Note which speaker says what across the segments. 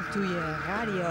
Speaker 1: Ratatouille Radio.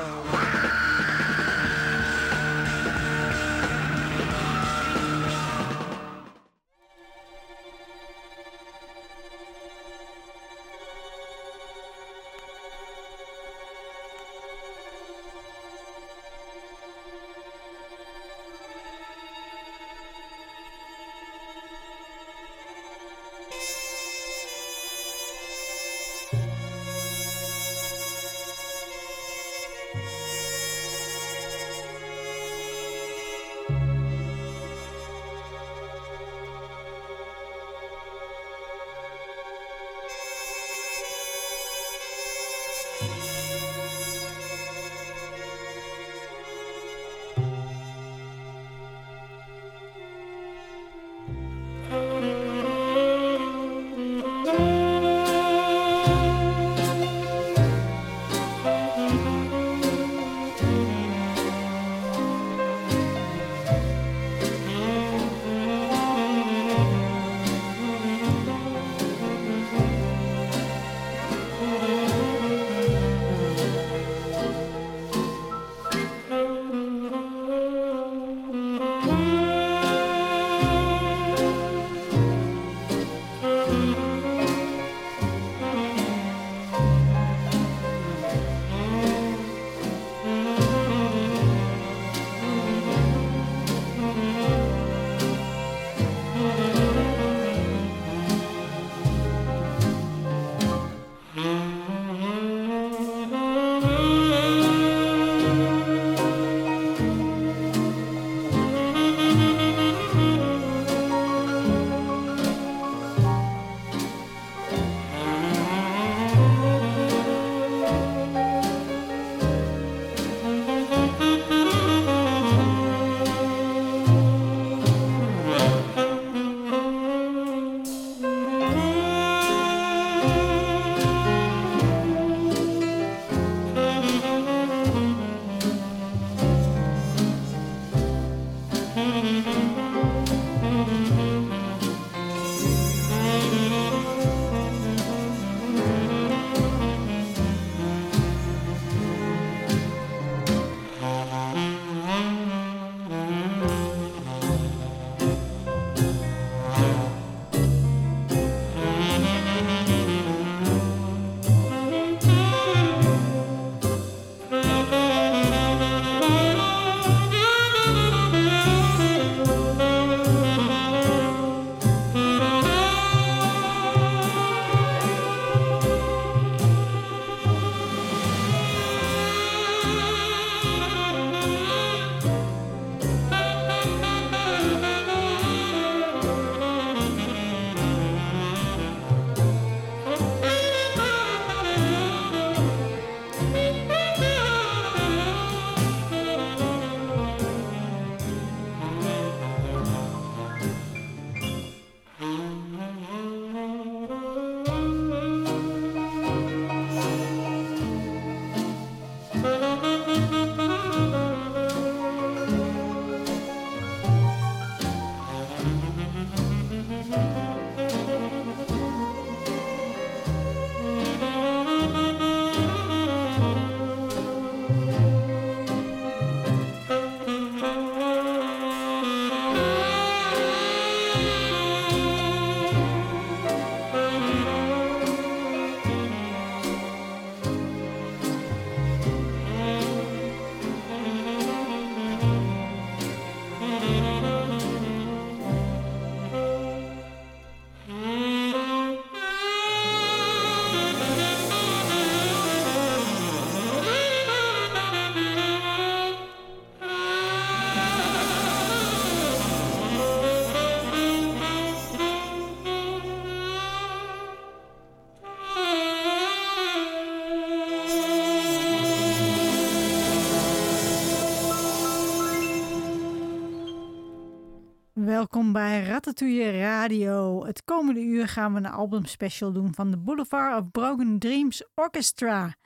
Speaker 1: Welkom bij Ratatouille Radio. Het komende uur gaan we een albumspecial doen van de Boulevard of Broken Dreams Orchestra.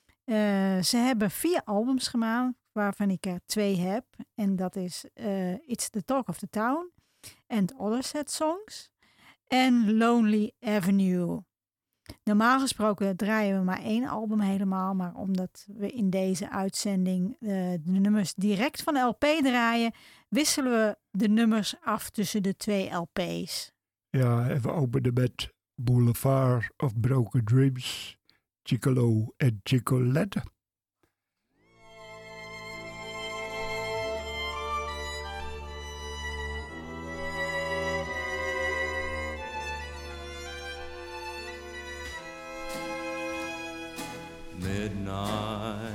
Speaker 1: Ze hebben 4 albums gemaakt, waarvan ik er 2 heb. En dat is It's the Talk of the Town and Other Sad Songs en Lonely Avenue. Normaal gesproken draaien we maar 1 album helemaal. Maar omdat we in deze uitzending de nummers direct van de LP draaien, wisselen we de nummers af tussen de 2 LP's.
Speaker 2: Ja, en we openen met Boulevard of Broken Dreams, Chicolo en Chicolette.
Speaker 3: Midnight,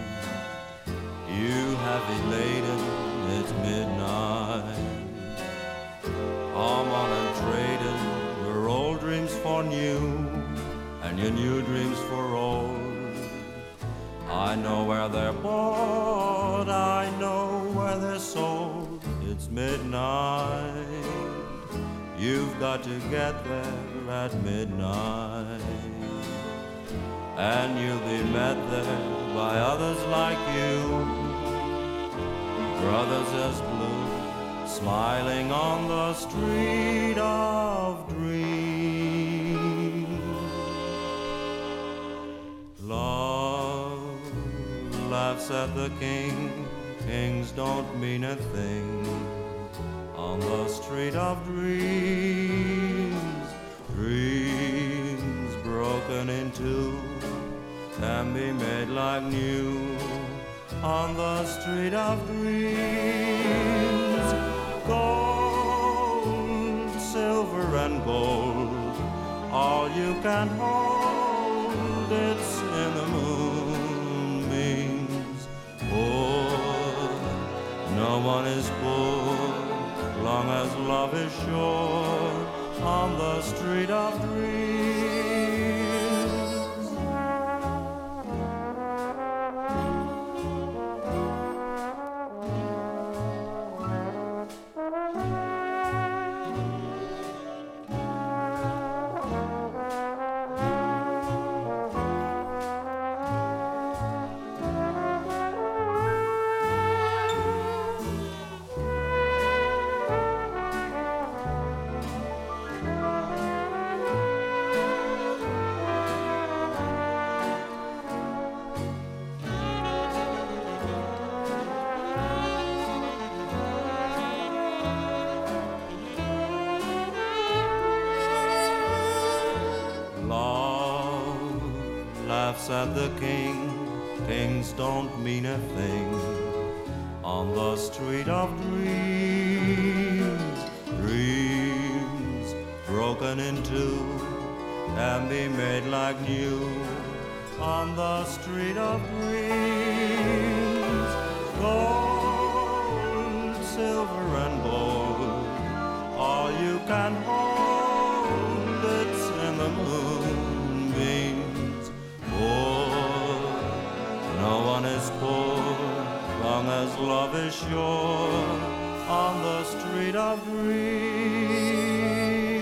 Speaker 3: you heavy laden, it's midnight. Come on and trade in your old dreams for new, and your new dreams for old. I know where they're bought, I know where they're sold. It's midnight, you've got to get there at midnight. And you'll be met there by others like you, brothers as blue, smiling on the street of dreams. Love laughs at the king, kings don't mean a thing on the street of dreams. Dreams broken in two can be made like new on the street of dreams. Gold, silver and gold, all you can hold, it's in the moonbeams. Poor, no one is poor, long as love is sure on the street of dreams. At the king, kings don't mean a thing on the street of dreams. Dreams broken in two can be made like new on the street of dreams. Gold, silver and gold, all you can hold, it's in the moonbeams. No one is poor, long as love is sure on the street of dreams.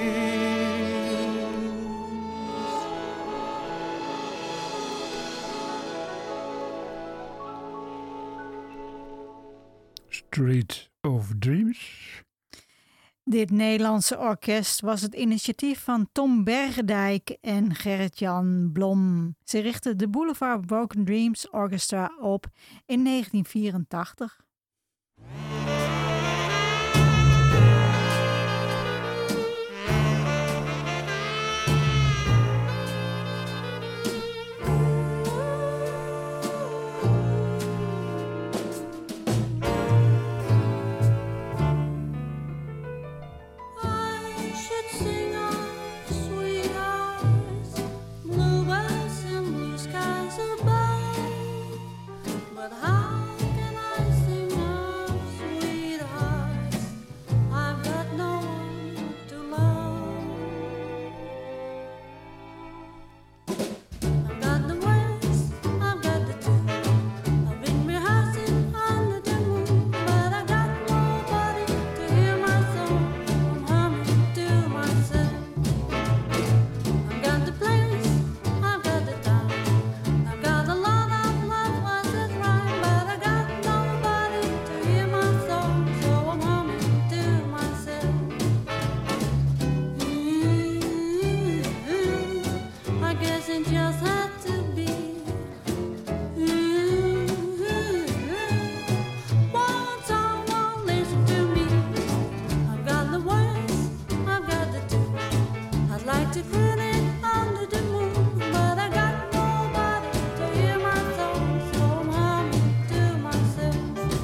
Speaker 2: Street of Dreams.
Speaker 1: Dit Nederlandse orkest was het initiatief van Tom Bergendijk en Gerrit-Jan Blom. Ze richtten de Boulevard Broken Dreams Orchestra op in 1984.
Speaker 4: But how can I sing doesn't just have to be. Won't someone listen to me? I've got the words, I've got the tune. I'd like to put it under the moon, but I got nobody to hear my song, so I'm humming to myself.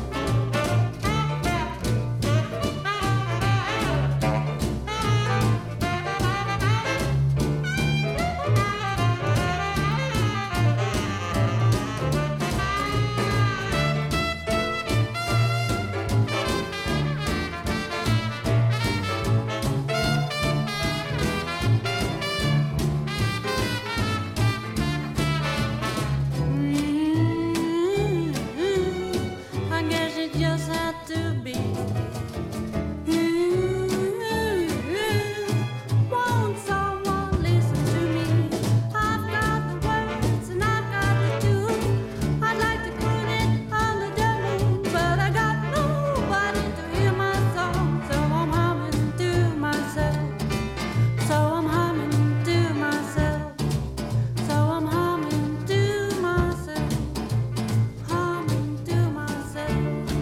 Speaker 4: I guess it just had to be. Won't someone listen to me? I've got the words and I've got the tune. I'd like to put it under the moon, but I got nobody to hear my song, so I'm humming to myself. So I'm humming to myself. So I'm humming to myself. Humming to myself.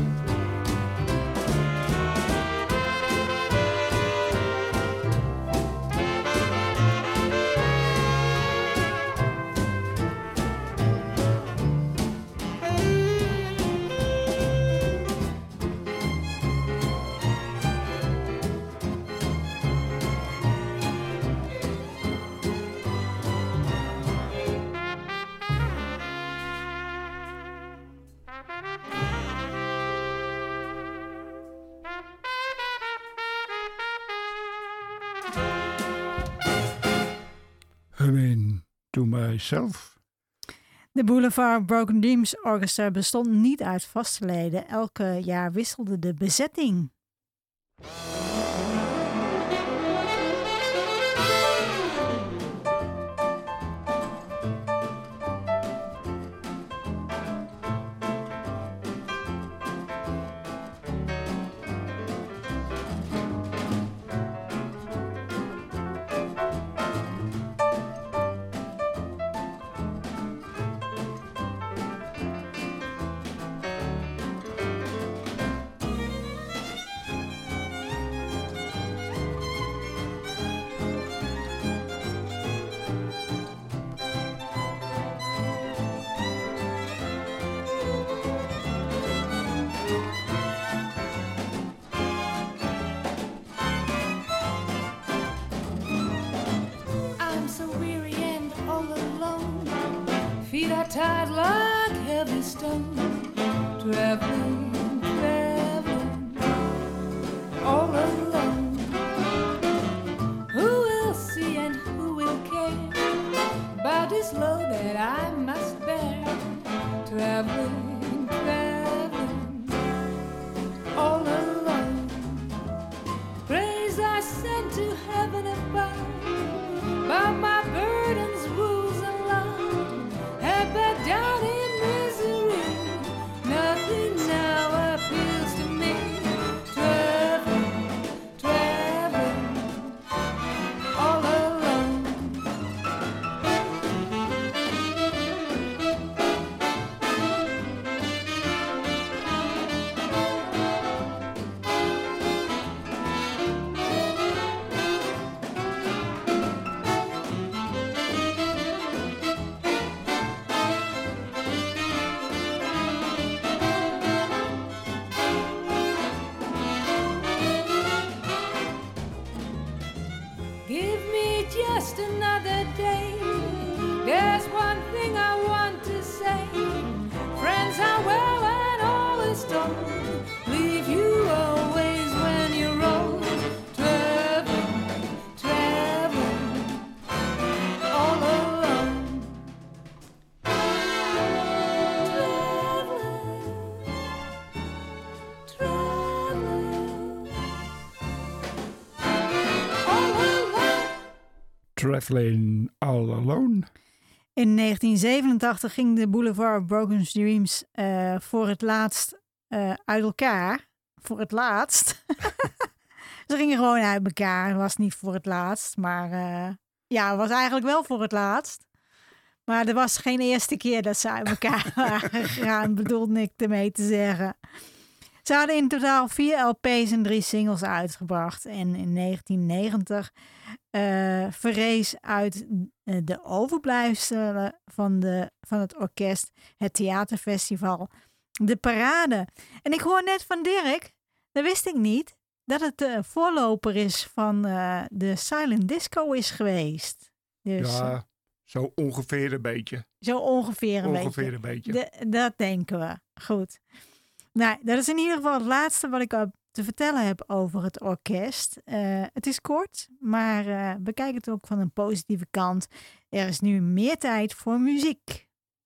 Speaker 2: Humming to myself.
Speaker 1: De Boulevard Broken Dreams Orchestra bestond niet uit vaste leden. Elke jaar wisselde de bezetting.
Speaker 4: I'm so weary and all alone. Feet are tired like heavy stone. Traveling, traveling, all alone. Who will see and who will care about this load that I must bear? Traveling, traveling, all alone. Praise I send to heaven above, but my burdens, woes, and love have back down in misery. Nothing now appeals to me. Traveling, traveling, all alone. Give me just another day. There's one thing I want to say. Friends are well and all is told. Leave you always when you're old. Traveling, traveling, all alone. Traveling, traveling, all alone.
Speaker 2: Traveling all alone.
Speaker 1: In 1987 ging de Boulevard Broken Dreams voor het laatst uit elkaar. Voor het laatst. Ze gingen gewoon uit elkaar. Het was niet voor het laatst, maar ja, het was eigenlijk wel voor het laatst. Maar dat was geen eerste keer dat ze uit elkaar waren gegaan, bedoelde ik ermee te zeggen. Ze hadden in totaal 4 LP's en 3 singles uitgebracht. En in 1990 verrees uit de overblijfselen van het orkest het theaterfestival De Parade. En ik hoor net van Dirk, dat wist ik niet, dat het de voorloper is van de Silent Disco is geweest. Dus,
Speaker 2: Ja, zo ongeveer een beetje.
Speaker 1: zo ongeveer een beetje. Dat denken we. Goed. Nou, dat is in ieder geval het laatste wat ik te vertellen heb over het orkest. Het is kort, maar bekijk het ook van een positieve kant. Er is nu meer tijd voor muziek.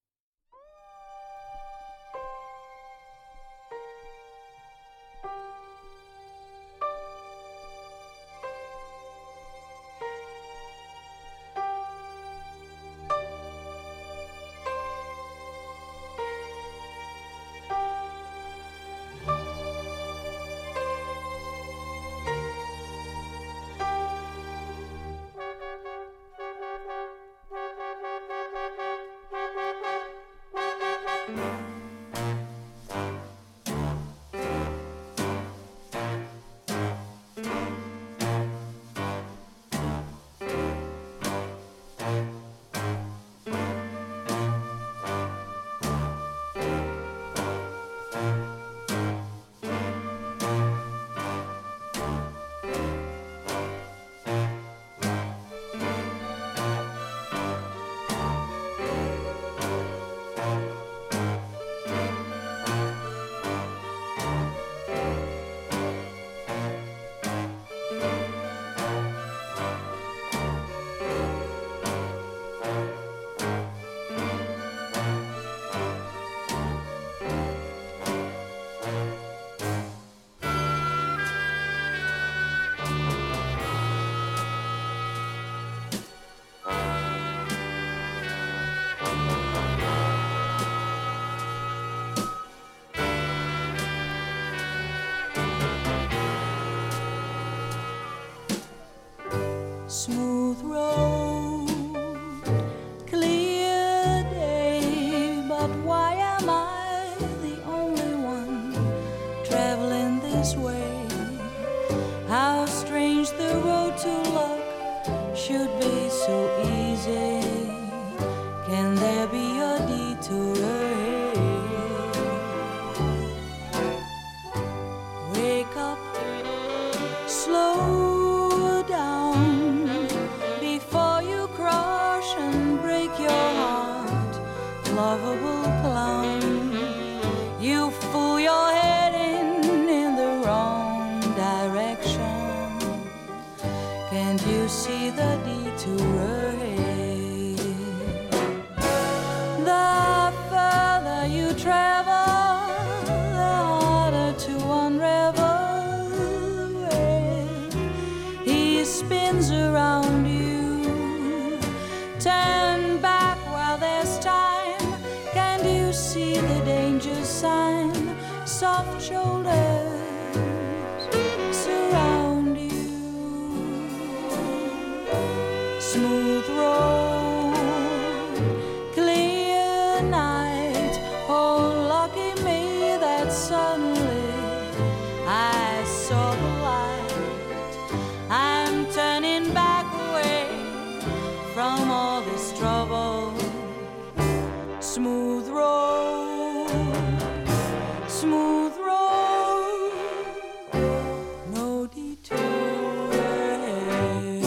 Speaker 4: Smooth road, clear day, but why am I the only one traveling this way? How strange the road to luck should be so easy. Can there be a detour ahead? Wake up, slow down before you crush and break your heart, lovable clown. You fool your head in the wrong direction. Can't you see the detour ahead? The further you travel, the harder to unravel the way he spins around you. Turn back while there's time. Can't you see the danger sign? Soft shoulders surround you. Smooth road, clear night. Oh, lucky me that suddenly I saw the light. I'm turning back away from all this trouble. Smooth road, smooth road, no detour ahead.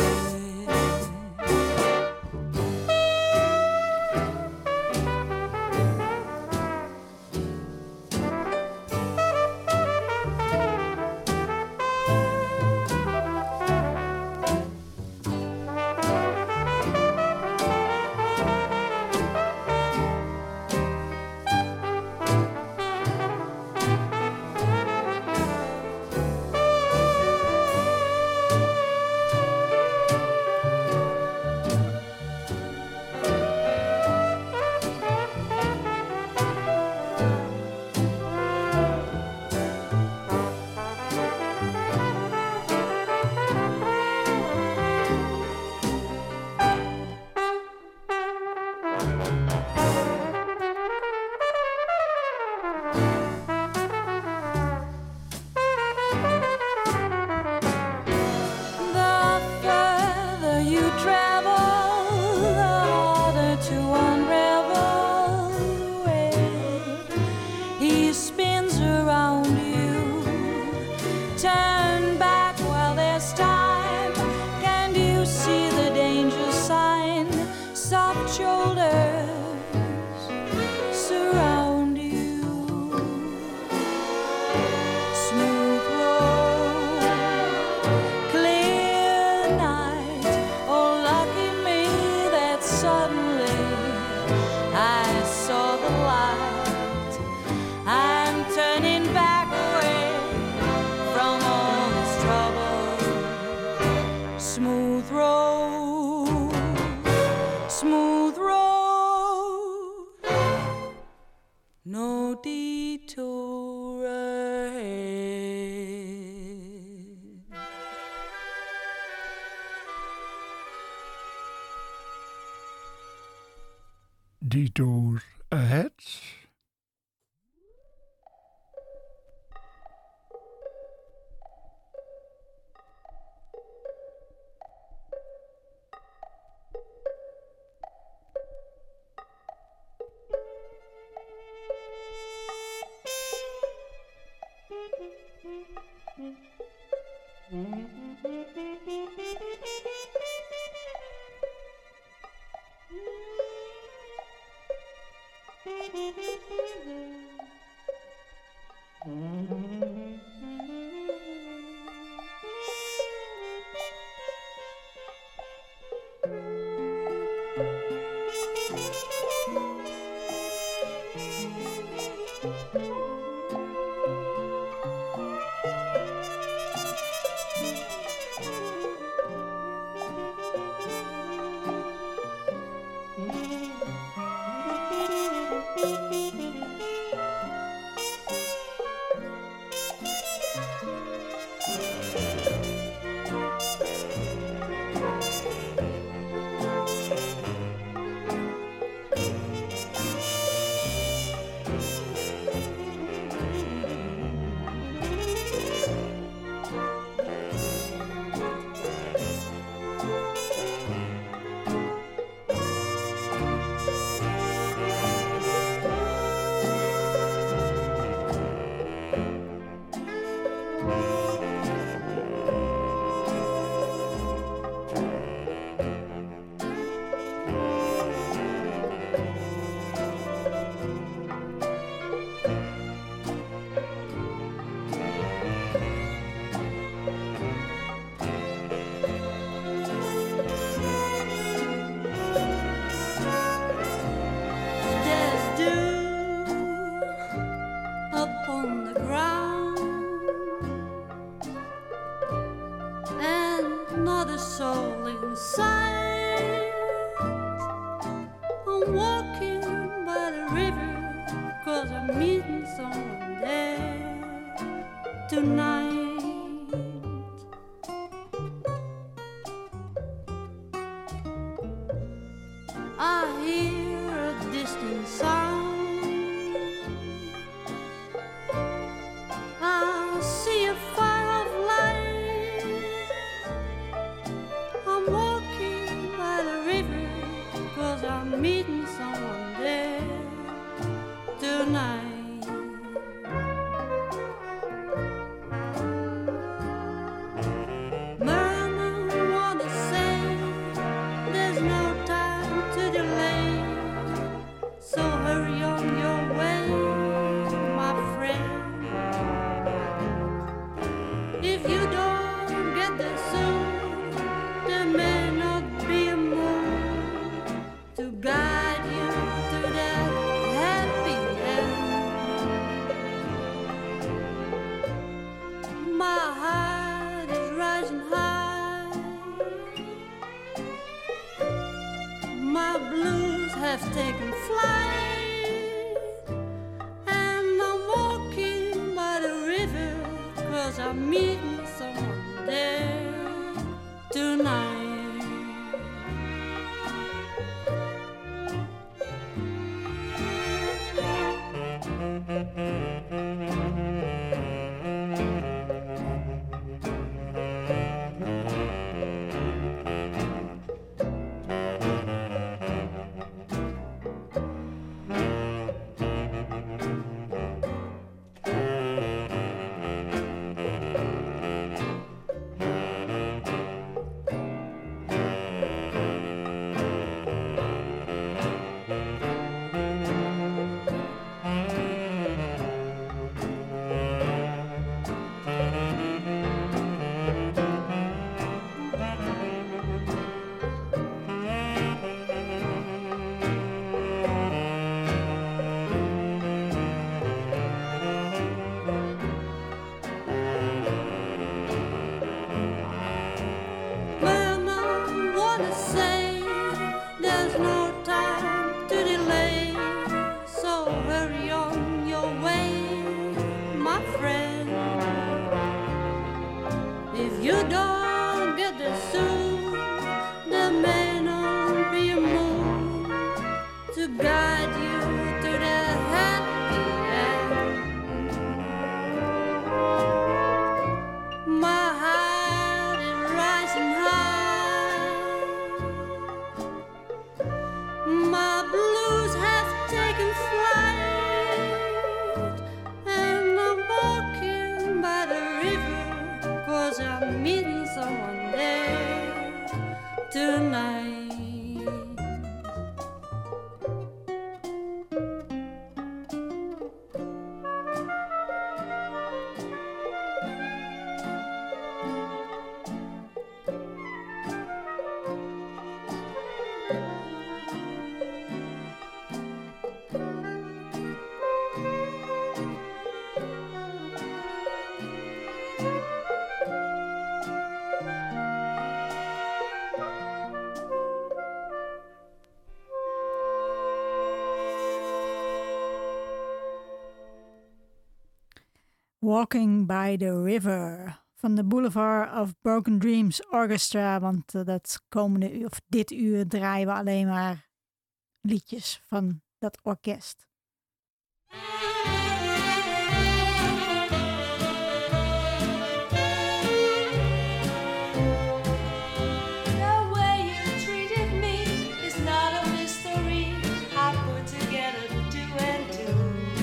Speaker 4: The further you travel, the harder to unravel the web. He spins around you. Turn back while there's time. Can you see the danger sign? Soft shoulders surround you. Smooth road, clear night. Oh, lucky me that suddenly I saw the light. I'm turning back away from all this trouble. Smooth road, smooth road, no detour ahead.
Speaker 2: Detour ahead.
Speaker 4: There's dew upon the ground, and not a soul in sight. I'm walking by the river, 'cause I'm meeting someone there tonight. I hear a distant sound. I see a fire of light. I'm walking by the river, 'cause I'm meeting someone there tonight. Merman wanna say there's no time to delay, so hurry on your way, my friend. If you don't get there soon, there may not be a moon to guide you to that happy end. My heart is rising high. My blues have taken flight, and I'm walking by the river, 'cause I'm meeting someone there tonight. Man, I wanna say there's no time to delay, so hurry on your way, my friend. If you don't get there soon, there may not be a moon to guide you to the happy end. My heart is rising high. My blues have taken flight, and I'm walking by the river, 'cause I'm meeting someone there tonight.
Speaker 1: Walking by the River van de Boulevard of Broken Dreams Orchestra. Want dat komende uur, of dit uur draaien we alleen maar liedjes van dat orkest.
Speaker 4: The way you treated me is not a mystery. I put together two and two.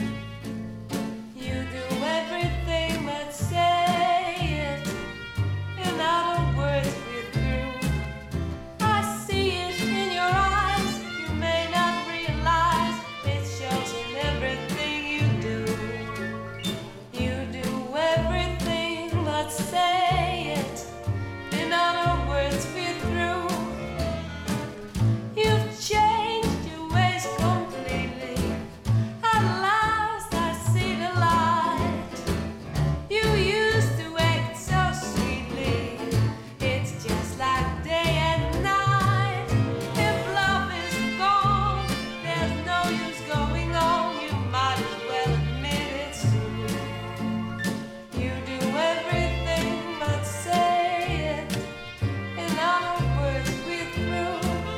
Speaker 4: You do everything but say it. In other words, we're through. I see it in your eyes. You may not realize it shows in everything you do. You do everything but say it. In other words, we're through. You've changed your ways completely. At last I see the light. You used to act so sweetly. It's just like day and night. If love is gone, there's no use going on. You might as well admit it's true. You do everything but say it. In other words, we're through.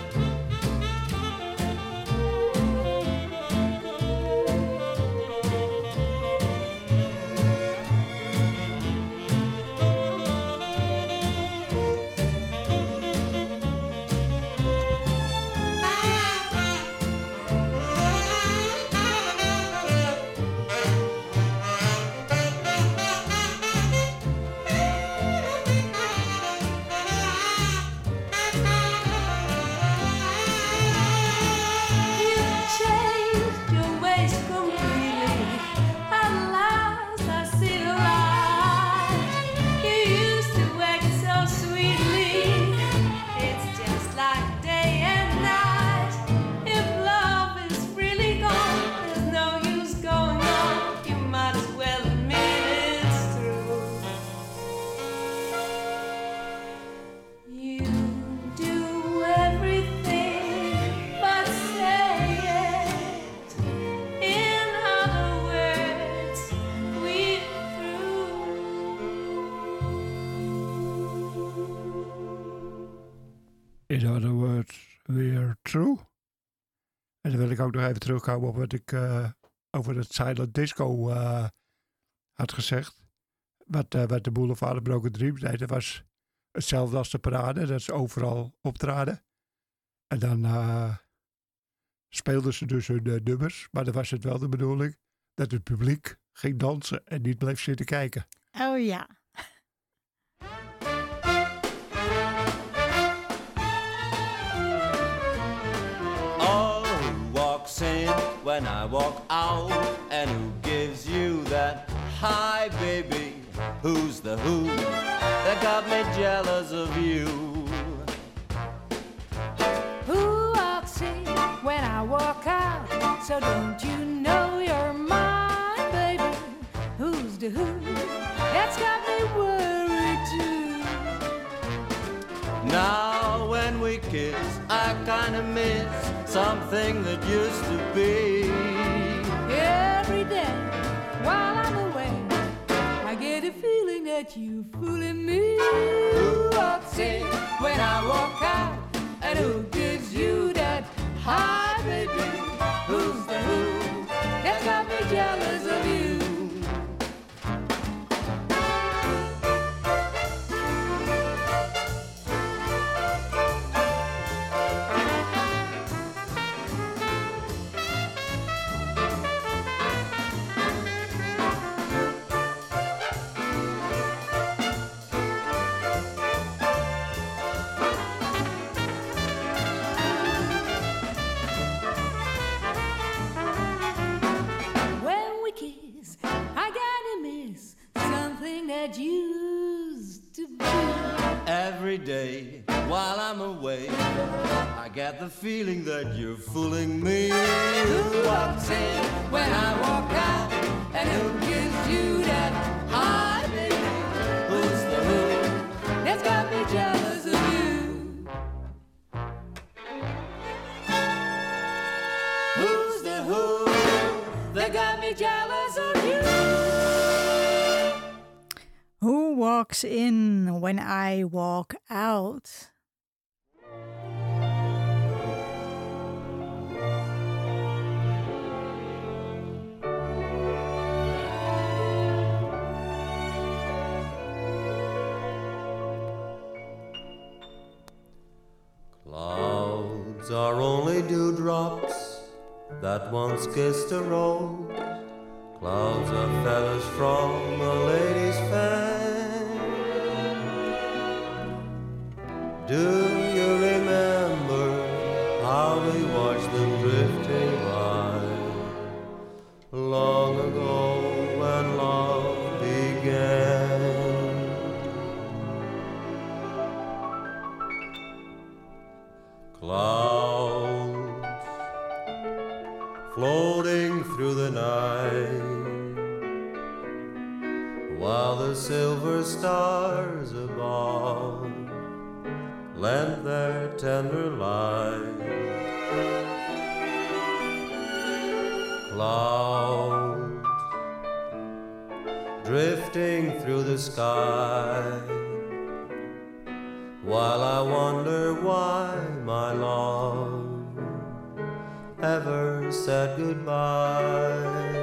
Speaker 4: You've changed your ways completely. At last I see the light. You used to act so sweetly. It's just like day and night. If love is really gone, there's no use going on. You might as well admit it's true. You do everything but say it. In other words, we're through.
Speaker 2: In other words, we're true. En dan wil ik ook nog even terugkomen op wat ik over het silent disco had gezegd. Wat de Boulevard of Broken Dreams deed, dat was hetzelfde als de parade. Dat ze overal optraden. En dan speelden ze dus hun nummers. Maar dan was het wel de bedoeling dat het publiek ging dansen en niet bleef zitten kijken.
Speaker 1: Oh ja.
Speaker 3: Oh, when I walk out? And who gives you that hi, baby? Who's the who that got me jealous of you?
Speaker 4: Who walks in when I walk out? So don't you know you're mine, baby? Who's the who that's got me worried too?
Speaker 3: Now when we kiss, I kinda miss something that used to be.
Speaker 4: Every day while I'm away, I get a feeling that you're fooling me. Who walks in when I walk out? And who gives you that hi, baby? Who's the who that's got me jealous of you? That used to be.
Speaker 3: Every day while I'm away, I get the feeling that you're fooling me.
Speaker 4: Who walks in when I walk out? And who gives you that hi, baby? Who's the who that's got me jealous of you? Who's the who that got me jealous of you?
Speaker 1: Who walks in when I walk out?
Speaker 3: Clouds are only dewdrops that once kissed a rose. Clouds are feathers from a lady's fan. Do you remember how we watched them drifting by long ago when love began? Clouds floating through the night, while the silver stars above lent their tender light. Clouds drifting through the sky, while I wonder why my love ever said goodbye.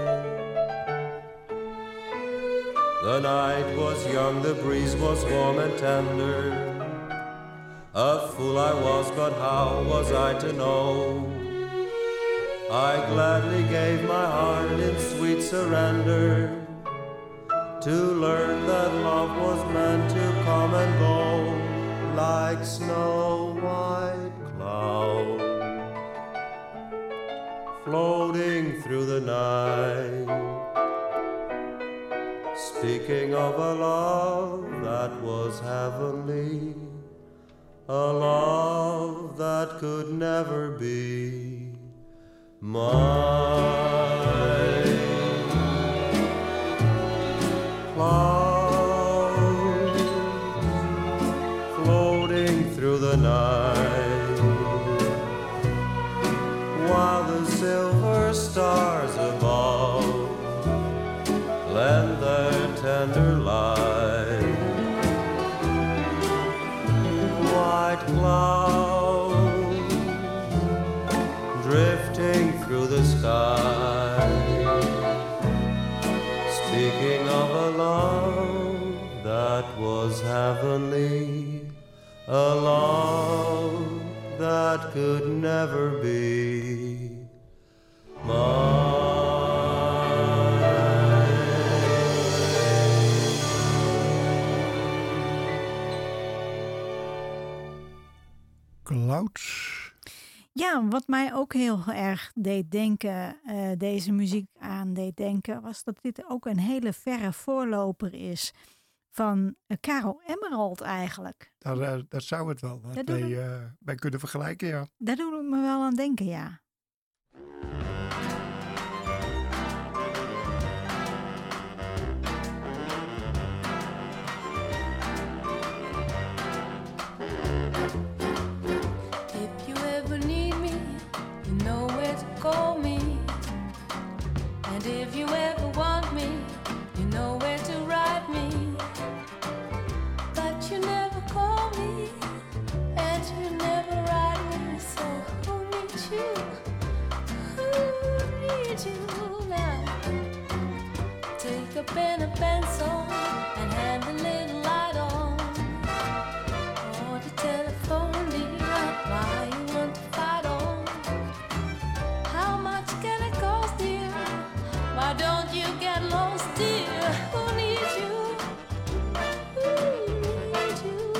Speaker 3: The night was young, the breeze was warm and tender. A fool I was, but how was I to know? I gladly gave my heart in sweet surrender, to learn that love was meant to come and go like snow white clouds floating through the night. Speaking of a love that was heavenly, a love that could never be mine. Clouds floating through the night, while the silver stars above lend their tender light. White clouds drifting through the sky, speaking of a love that was heavenly, a love that could never be mine.
Speaker 2: Clouds.
Speaker 1: Ja, wat mij ook heel erg deed denken, deze muziek aan deed denken, was dat dit ook een hele verre voorloper is van Karel Emerald eigenlijk.
Speaker 2: Dat zou het wel wat
Speaker 1: Dat doen
Speaker 2: bij kunnen vergelijken, ja.
Speaker 1: Daar doe ik me wel aan denken, ja.
Speaker 4: If you ever need me, you know where to call me. And if you ever want me, you know where to write me. But you never call me, and you never write me. So who needs you? Who needs you now? Take a pen and pencil and hand a little light on. Or the telephone, dear, why you want to fight on? How much can it cost, dear? Why don't you get lost, dear? Who needs you? Who needs you?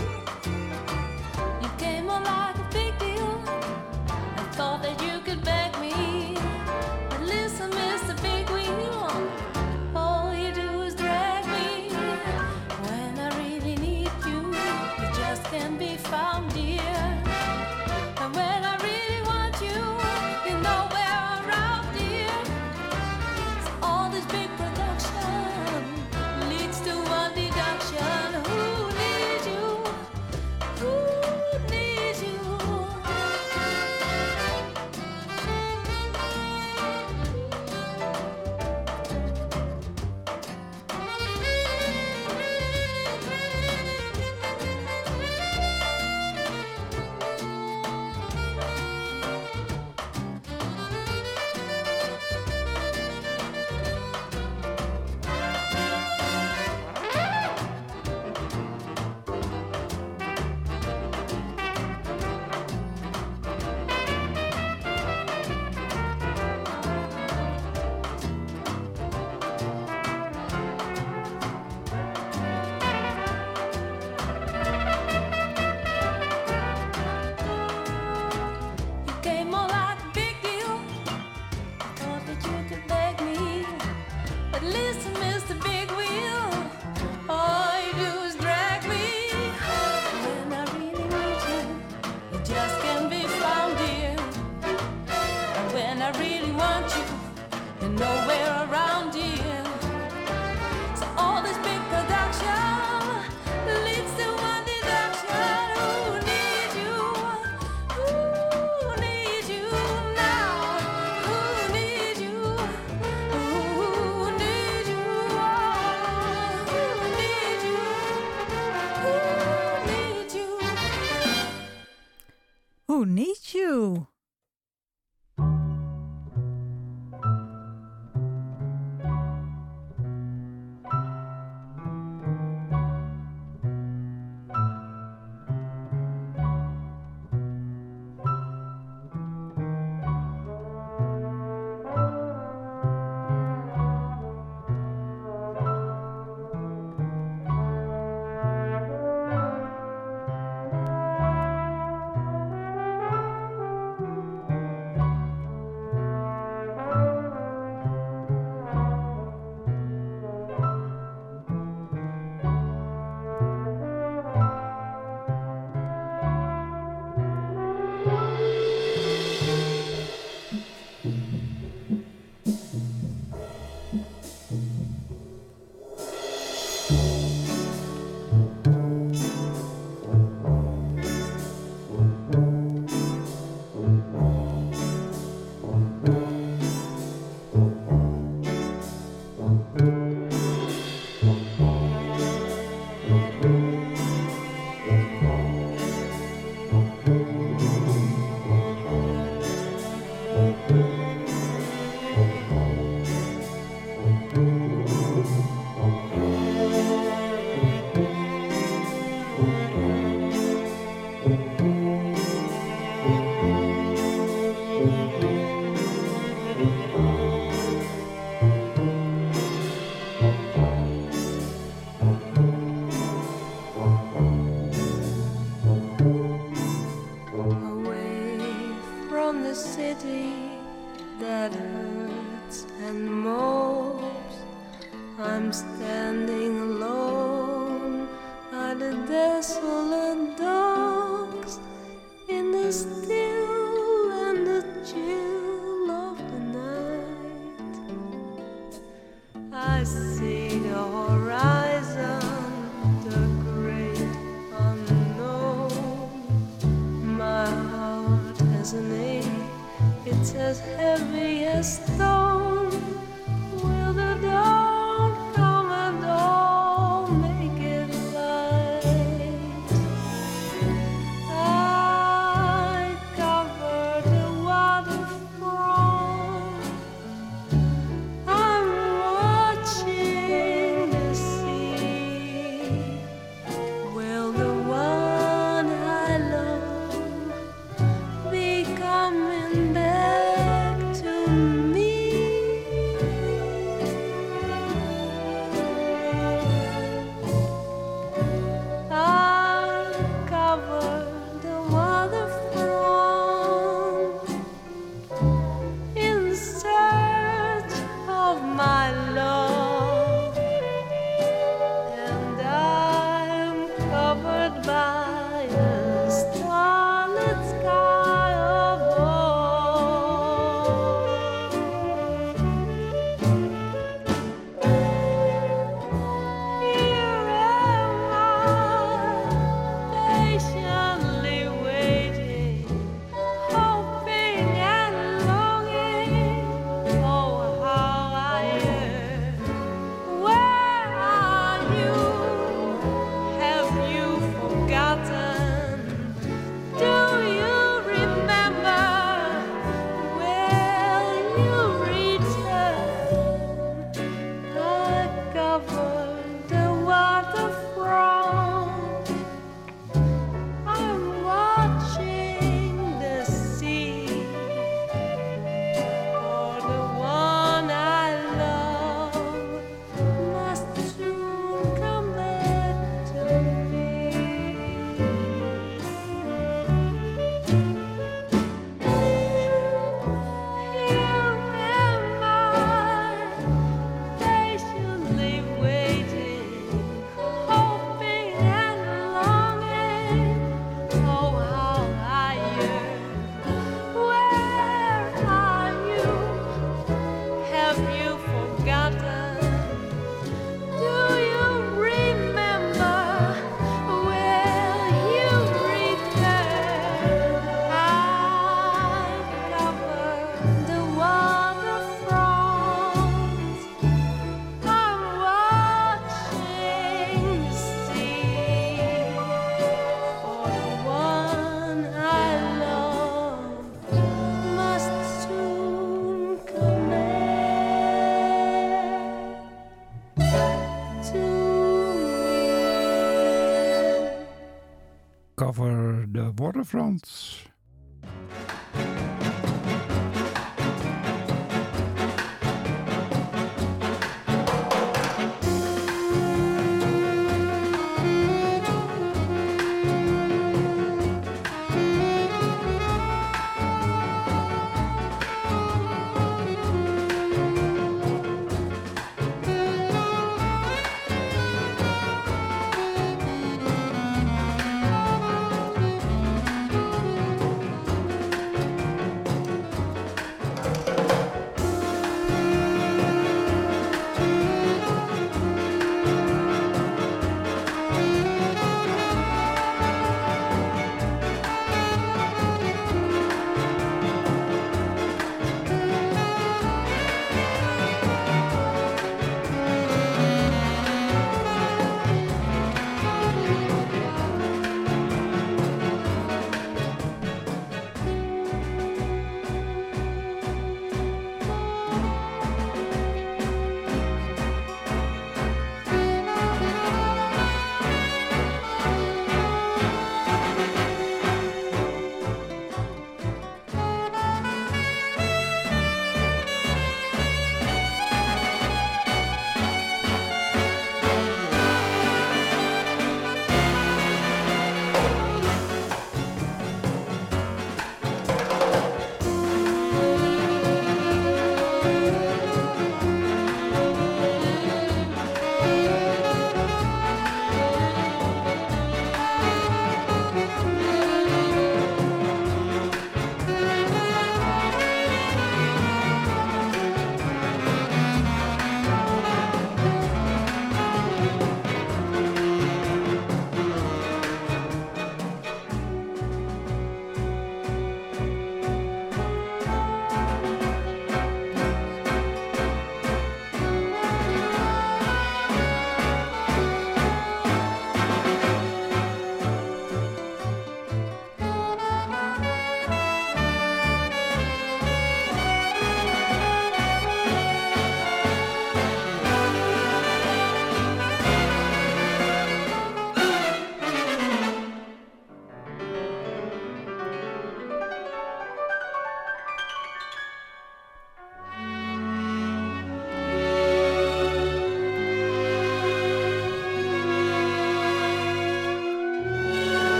Speaker 4: You came on like a big deal and thought that you could beg me. But listen, Mr. Big Wheel, all you do is drag me. When I really need you, you just can't be found, dear. And when I really want you, you're nowhere around, dear. So all this
Speaker 5: that hurts and mopes. I'm standing alone by the desolate docks in the still and the chill of the night. I see the horizon, the great unknown. My heart has an ache, it's as heavy as stone. Will the dawn come and all make it light? I cover the waterfront. I'm watching the sea. Will the one I love be coming back to me? I'll cover the waterfront in search of my love, and I'm covered by a starlit sky above. Here am I, patiently waiting, hoping and longing. Oh, how I yearn. Where are you? Have you forgotten? Do you remember? Will you return? I cover the waterfront. I'm watching the sea for the one I love must soon come back to me. Here am I, patiently waiting, hoping and longing. Oh, how I yearn. Where are you? Have you forgotten? Do you remember? Will you return? I cover the waterfront. I'm watching the sea for the one I love must soon come back to me.
Speaker 2: Cover the waterfront.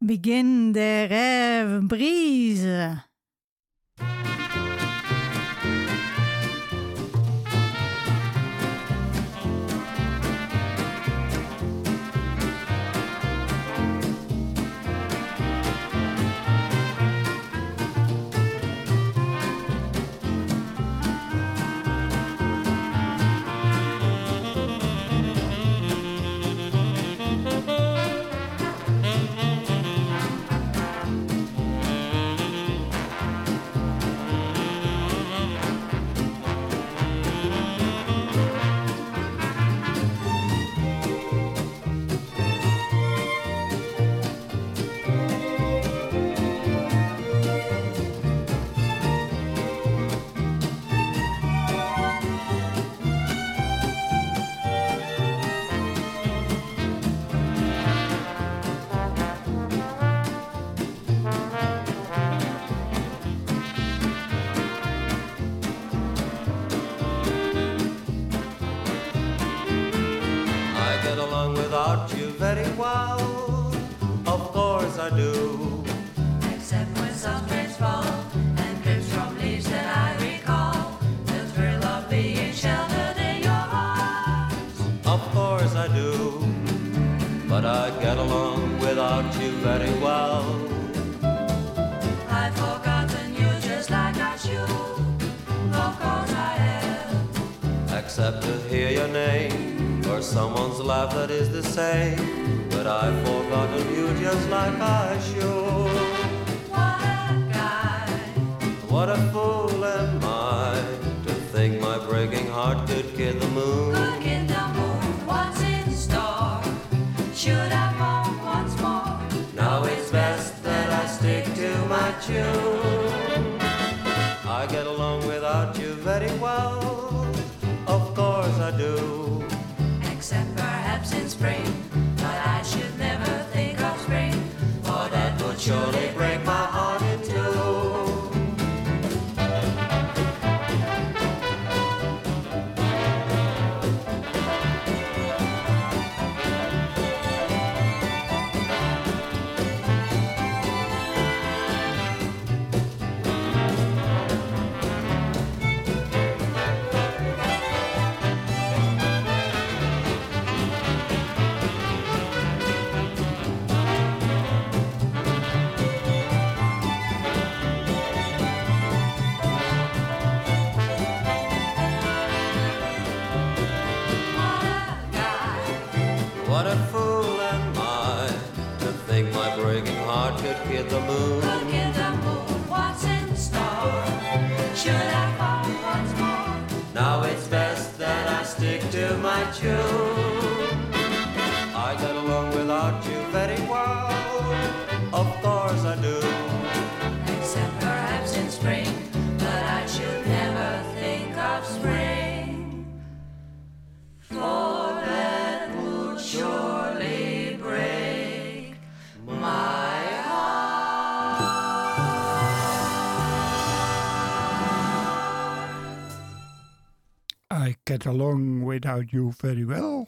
Speaker 1: Begin de rêve brise.
Speaker 3: I get along without you very well. Of course I do.
Speaker 6: Except when some rains fall and drips from leaves that I recall the thrill of being sheltered in your arms.
Speaker 3: Of course I do. But I get along without you very well.
Speaker 6: I've forgotten you just like I should. Of course I have.
Speaker 3: Except to hear your name or someone's laugh that is the same. But I've forgotten you just like I should.
Speaker 6: What a guy.
Speaker 3: What a fool am I to think my breaking heart could kid the moon.
Speaker 6: Look in the moon, what's in store? Should have home once more.
Speaker 3: Now it's best that I stick to my tune. I get along without you very well. Of course I do.
Speaker 6: Except perhaps in spring, but I should never think of spring, for that would surely break my heart in two. What a guy.
Speaker 3: What a fool am I to think my breaking heart could kid the moon.
Speaker 6: Look in the moon, what's in store? Should have found once more.
Speaker 3: Now it's best that I stick to my tune. I get along without you very well. Of course I do.
Speaker 6: Except perhaps in spring, but I should never think of spring, for that would surely break my
Speaker 2: I get along without you very well.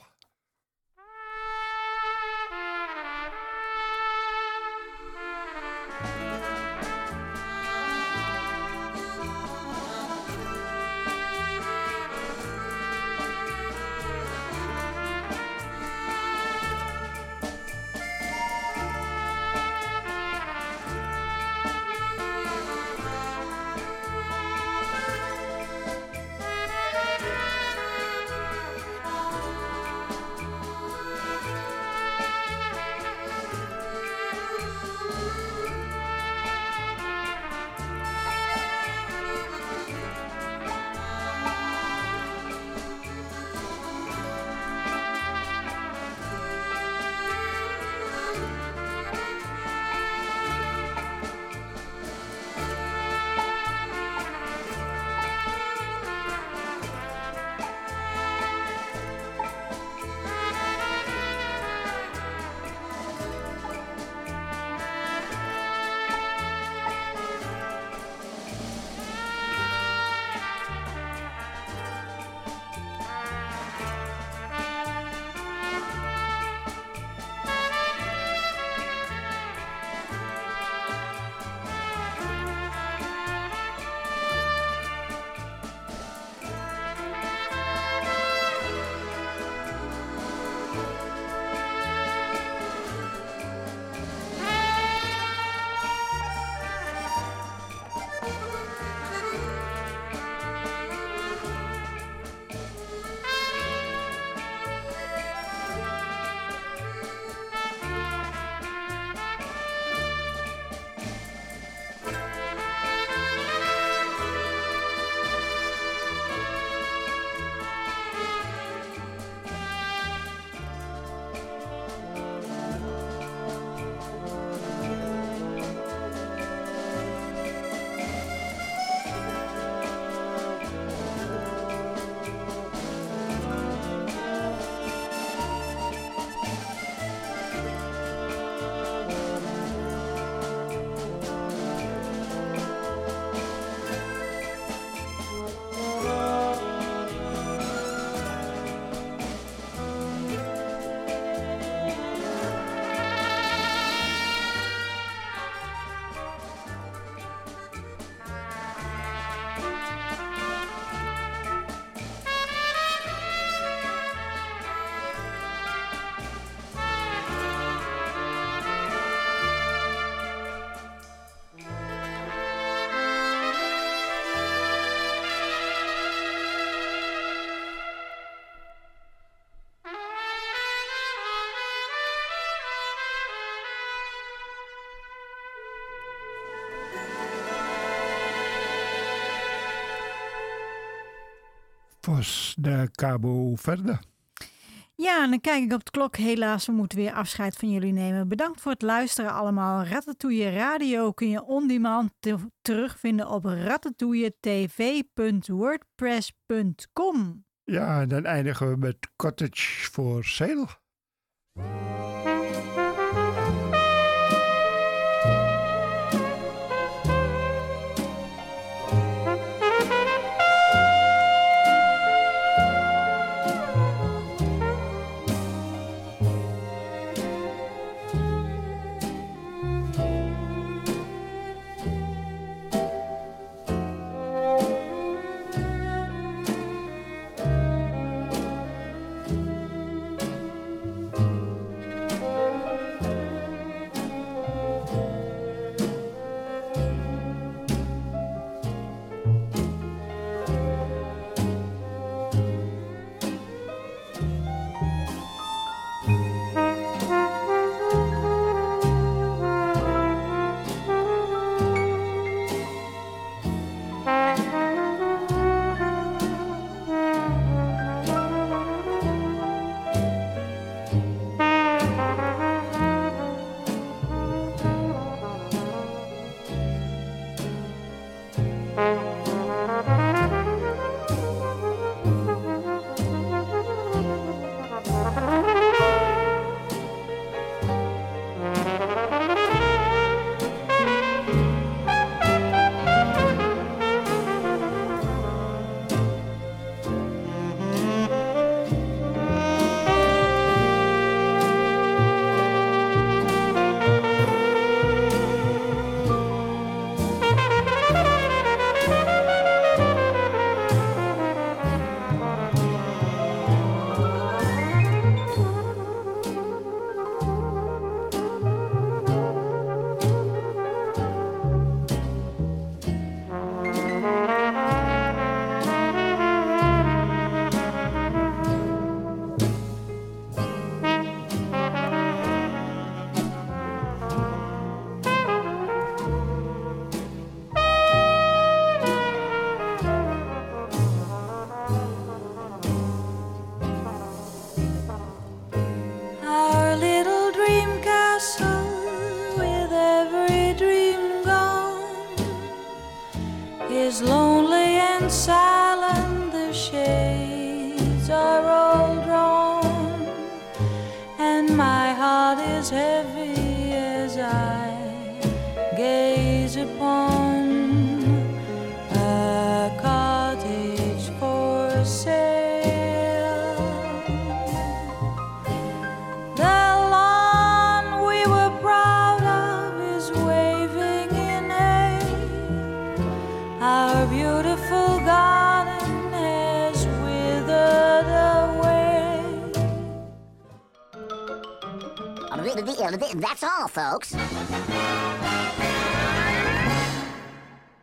Speaker 2: was de Cabo Verde.
Speaker 1: Ja, en dan kijk ik op de klok. Helaas, we moeten weer afscheid van jullie nemen. Bedankt voor het luisteren allemaal. Ratatouille Radio kun je on demand terugvinden op ratatouilletv.wordpress.com.
Speaker 2: Ja, en dan eindigen we met Cottage for Sale.
Speaker 5: Our little dream castle, with every dream gone, is lonely and silent. The shades are all drawn, and my heart is heavy as I gaze upon a cottage for sale. The lawn we were proud of is waving in hay. Our beautiful garden has withered away.
Speaker 7: That's all, folks.